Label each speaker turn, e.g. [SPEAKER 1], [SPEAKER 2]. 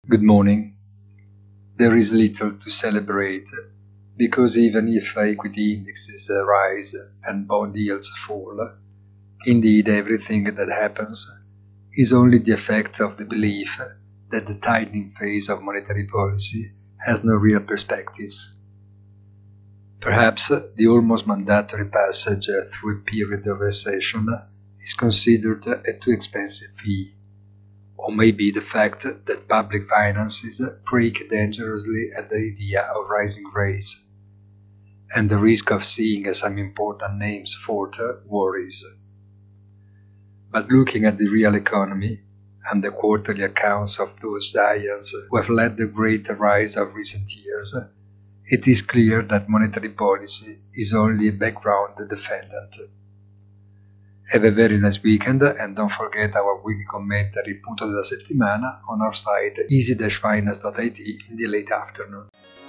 [SPEAKER 1] Good morning. There is little to celebrate, because even if equity indexes rise and bond yields fall, indeed everything that happens is only the effect of the belief that the tightening phase of monetary policy has no real perspectives. Perhaps the almost mandatory passage through a period of recession is considered a too expensive fee, or maybe the fact that public finances creak dangerously at the idea of rising rates, and the risk of seeing some important names falter worries. But looking at the real economy, and the quarterly accounts of those giants who have led the great rise of recent years, it is clear that monetary policy is only a background defendant. Have a very nice weekend and don't forget our weekly commentary punto della settimana on our site easy-finance.it in the late afternoon.